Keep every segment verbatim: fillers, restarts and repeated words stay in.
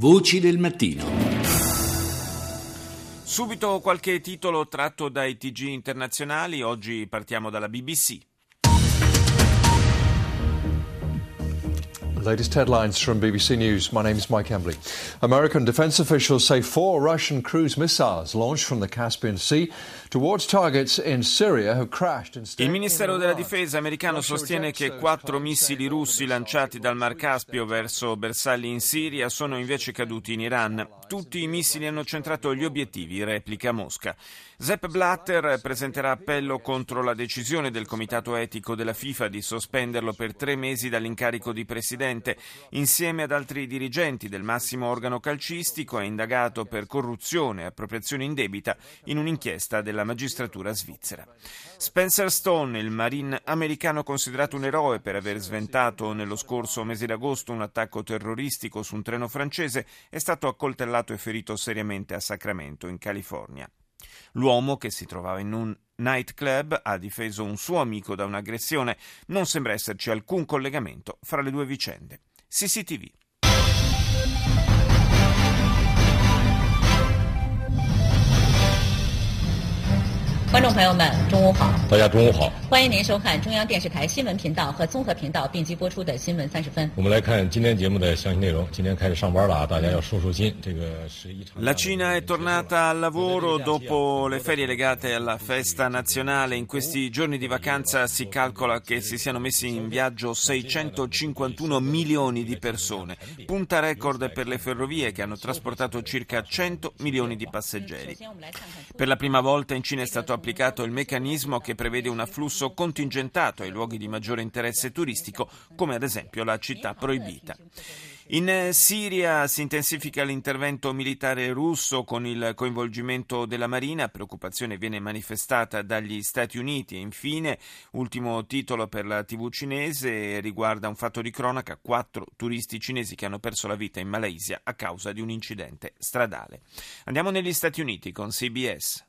Voci del mattino. Subito qualche titolo tratto dai T G internazionali. Oggi partiamo dalla B B C. Latest headlines from B B C News. My name is Mike Embley. American defense officials say four Russian cruise missiles launched from the Caspian Sea towards targets in Syria have crashed instead. Il Ministero della Difesa americano sostiene che quattro missili russi lanciati dal Mar Caspio verso bersagli in Siria sono invece caduti in Iran. Tutti i missili hanno centrato gli obiettivi, replica Mosca. Sepp Blatter presenterà appello contro la decisione del Comitato Etico della FIFA di sospenderlo per tre mesi dall'incarico di presidente. Insieme ad altri dirigenti del massimo organo calcistico è indagato per corruzione e appropriazione indebita in un'inchiesta della magistratura svizzera. Spencer Stone, il marine americano considerato un eroe per aver sventato nello scorso mese d'agosto un attacco terroristico su un treno francese, è stato accoltellato e ferito seriamente a Sacramento, in California. L'uomo, che si trovava in un nightclub, ha difeso un suo amico da un'aggressione. Non sembra esserci alcun collegamento fra le due vicende. C C T V. 观众朋友们，中午好！ 大家中午好！ 欢迎您收看中央电视台新闻频道和综合频道并机播出的新闻三十分。 我们来看今天节目的详细内容。今天开始上班了啊，大家要收收心。这个是一场。 La Cina è tornata al lavoro dopo le ferie legate alla festa nazionale. In questi giorni di vacanza si calcola che si siano messi in viaggio seicentocinquantuno milioni di persone, punta record per le ferrovie che hanno trasportato circa cento milioni di passeggeri. Per la prima volta in Cina è stato applicato il meccanismo che prevede un afflusso contingentato ai luoghi di maggiore interesse turistico, come ad esempio la città proibita. In Siria si intensifica l'intervento militare russo con il coinvolgimento della Marina, preoccupazione viene manifestata dagli Stati Uniti. E infine, ultimo titolo per la tivù cinese, riguarda un fatto di cronaca: quattro turisti cinesi che hanno perso la vita in Malaysia a causa di un incidente stradale. Andiamo negli Stati Uniti con C B S.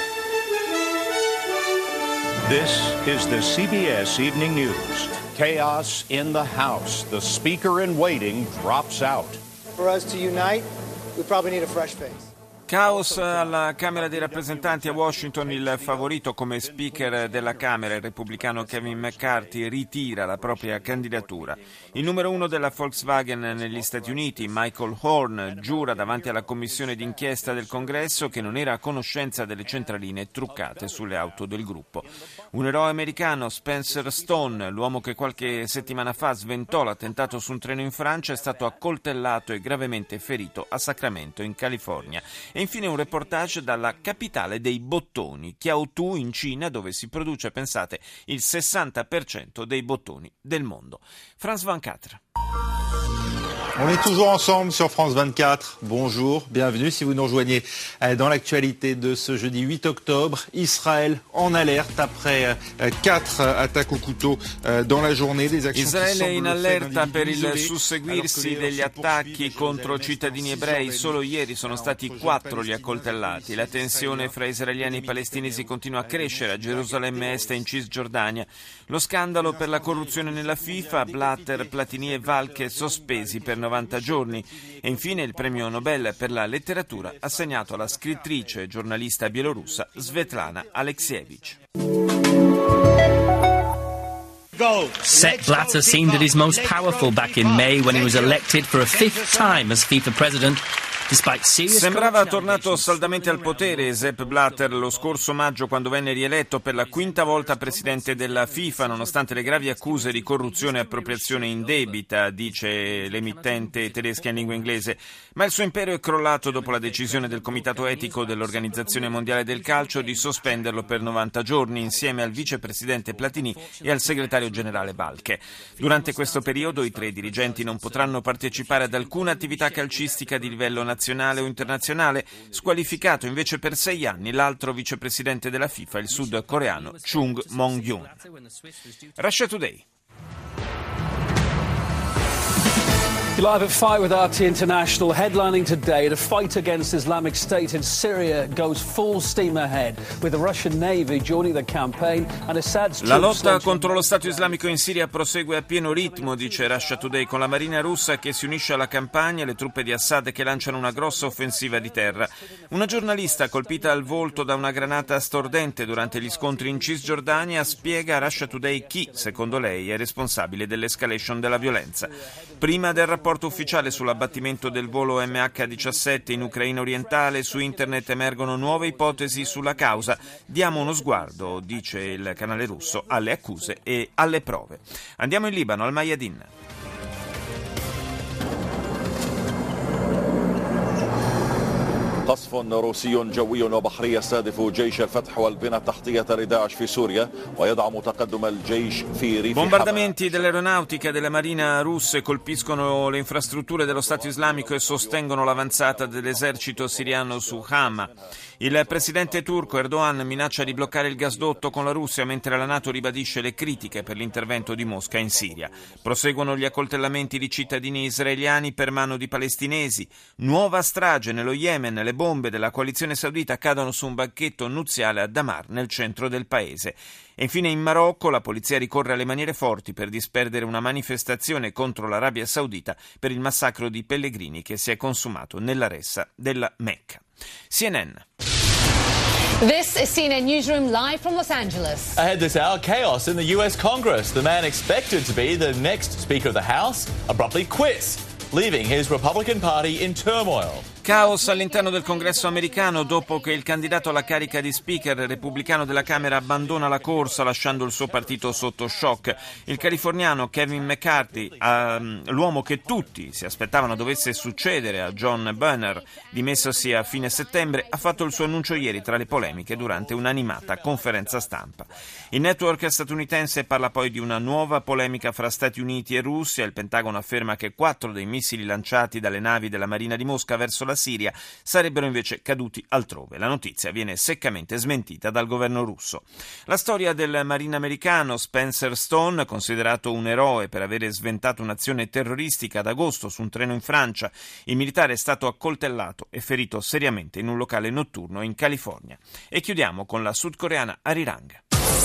This is the C B S Evening News. Chaos in the House. The speaker in waiting drops out. For us to unite, we probably need a fresh face. Caos alla Camera dei rappresentanti a Washington. Il favorito come speaker della Camera, il repubblicano Kevin McCarthy, ritira la propria candidatura. Il numero uno della Volkswagen negli Stati Uniti, Michael Horn, giura davanti alla commissione d'inchiesta del Congresso che non era a conoscenza delle centraline truccate sulle auto del gruppo. Un eroe americano, Spencer Stone, l'uomo che qualche settimana fa sventò l'attentato su un treno in Francia, è stato accoltellato e gravemente ferito a Sacramento, in California. E infine un reportage dalla capitale dei bottoni, Kiaotu, in Cina, dove si produce, pensate, il sessanta per cento dei bottoni del mondo. France vingt-quatre. On est toujours ensemble sur France vingt-quatre. Bonjour, bienvenue si vous nous rejoignez dans l'actualité de ce jeudi huit octobre. Israël en alerte après quatre attaques au couteau dans la journée. Des actions Israele in allerta per il susseguirsi degli attacchi contro cittadini ebrei. Solo ieri sono stati quattro gli accoltellati. La tensione fra israeliani e palestinesi continua a crescere a Gerusalemme Est e in Cisgiordania. Lo scandalo per la corruzione nella FIFA, Blatter, Platini e Valche sospesi per novanta giorni. E infine il premio Nobel per la letteratura assegnato alla scrittrice e giornalista bielorussa Svetlana Alexievich. Sepp Blatter seemed at his most powerful back in May when he was elected for a fifth time as FIFA president. Sembrava tornato saldamente al potere Sepp Blatter lo scorso maggio, quando venne rieletto per la quinta volta presidente della FIFA, nonostante le gravi accuse di corruzione e appropriazione indebita, dice l'emittente tedesca in lingua inglese. Ma il suo imperio è crollato dopo la decisione del Comitato Etico dell'Organizzazione Mondiale del Calcio di sospenderlo per novanta giorni insieme al vicepresidente Platini e al segretario generale Balche. Durante questo periodo i tre dirigenti non potranno partecipare ad alcuna attività calcistica di livello nazionale nazionale o internazionale. Squalificato invece per sei anni l'altro vicepresidente della FIFA, il sudcoreano Chung Mong-yun. Russia Today. You're live at five with R T International. Headlining today, the fight against Islamic State in Syria goes full steam ahead, with the Russian Navy joining the campaign and Assad's troops. La lotta contro lo Stato islamico in Siria prosegue a pieno ritmo, dice Russia Today, con la marina russa che si unisce alla campagna e le truppe di Assad che lanciano una grossa offensiva di terra. Una giornalista colpita al volto da una granata stordente durante gli scontri in Cisgiordania spiega a Russia Today chi, secondo lei, è responsabile dell'escalation della violenza. Prima del rapporto ufficiale sull'abbattimento del volo M H diciassette in Ucraina orientale, su internet emergono nuove ipotesi sulla causa. Diamo uno sguardo, dice il canale russo, alle accuse e alle prove. Andiamo in Libano, al Mayadin. قصف روسي جوي وبحري يستهدف جيش الفتح والبنى التحتية لداعش في سوريا ويدعم تقدم الجيش في ريف. Bombardamenti dell'aeronautica e della marina russe colpiscono le infrastrutture dello Stato islamico e sostengono l'avanzata dell'esercito siriano su Hama. Il presidente turco Erdogan minaccia di bloccare il gasdotto con la Russia mentre la NATO ribadisce le critiche per l'intervento di Mosca in Siria. Proseguono gli accoltellamenti di cittadini israeliani per mano di palestinesi. Nuova strage nello Yemen. Le bombe della coalizione saudita cadono su un banchetto nuziale a Damar, nel centro del paese. E infine in Marocco la polizia ricorre alle maniere forti per disperdere una manifestazione contro l'Arabia Saudita per il massacro di pellegrini che si è consumato nella ressa della Mecca. C N N. This is C N N Newsroom live from Los Angeles. Ahead this hour, chaos in the U S Congress. The man expected to be the next Speaker of the House abruptly quits, leaving his Republican Party in turmoil. Caos all'interno del Congresso americano dopo che il candidato alla carica di speaker repubblicano della Camera abbandona la corsa lasciando il suo partito sotto shock. Il californiano Kevin McCarthy, ehm, l'uomo che tutti si aspettavano dovesse succedere a John Boehner, dimessosi a fine settembre, ha fatto il suo annuncio ieri tra le polemiche durante un'animata conferenza stampa. Il network statunitense parla poi di una nuova polemica fra Stati Uniti e Russia. Il Pentagono afferma che quattro dei missili lanciati dalle navi della Marina di Mosca verso la Siria sarebbero invece caduti altrove. La notizia viene seccamente smentita dal governo russo. La storia del marine americano Spencer Stone, considerato un eroe per avere sventato un'azione terroristica ad agosto su un treno in Francia. Il militare è stato accoltellato e ferito seriamente in un locale notturno in California. E chiudiamo con la sudcoreana Arirang.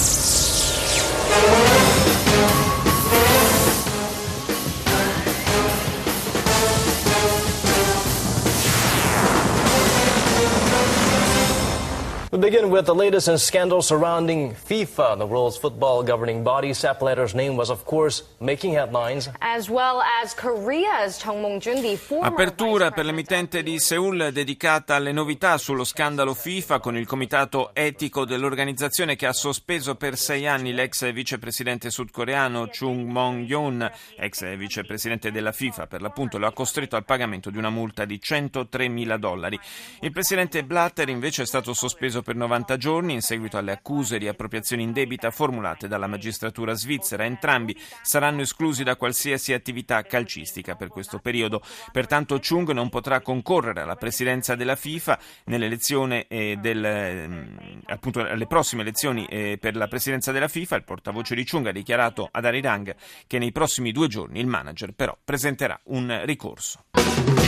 We begin with the latest in scandal surrounding FIFA, the world's football governing body. Sepp Blatter's name was, of course, making headlines. As well as Korea's Chung Mong-jun, the former Apertura per l'emittente di Seoul dedicata alle novità sullo scandalo FIFA con il comitato etico dell'organizzazione che ha sospeso per sei anni l'ex vicepresidente sudcoreano Chung Mong-yeon, ex vicepresidente della FIFA per l'appunto, lo ha costretto al pagamento di una multa di centotremila dollari. Il presidente Blatter invece è stato sospeso per novanta giorni in seguito alle accuse di appropriazione indebita formulate dalla magistratura svizzera. Entrambi saranno esclusi da qualsiasi attività calcistica per questo periodo. Pertanto Chung non potrà concorrere alla presidenza della FIFA nell'elezione eh, del, eh, appunto alle prossime elezioni eh, per la presidenza della FIFA. Il portavoce di Chung ha dichiarato ad Arirang che nei prossimi due giorni il manager però presenterà un ricorso.